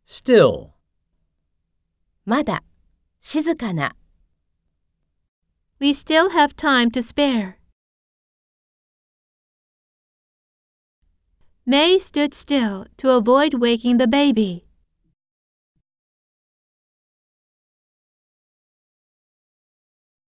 still, まだ、静かな。 We still have time to spare. May stood still to avoid waking the baby.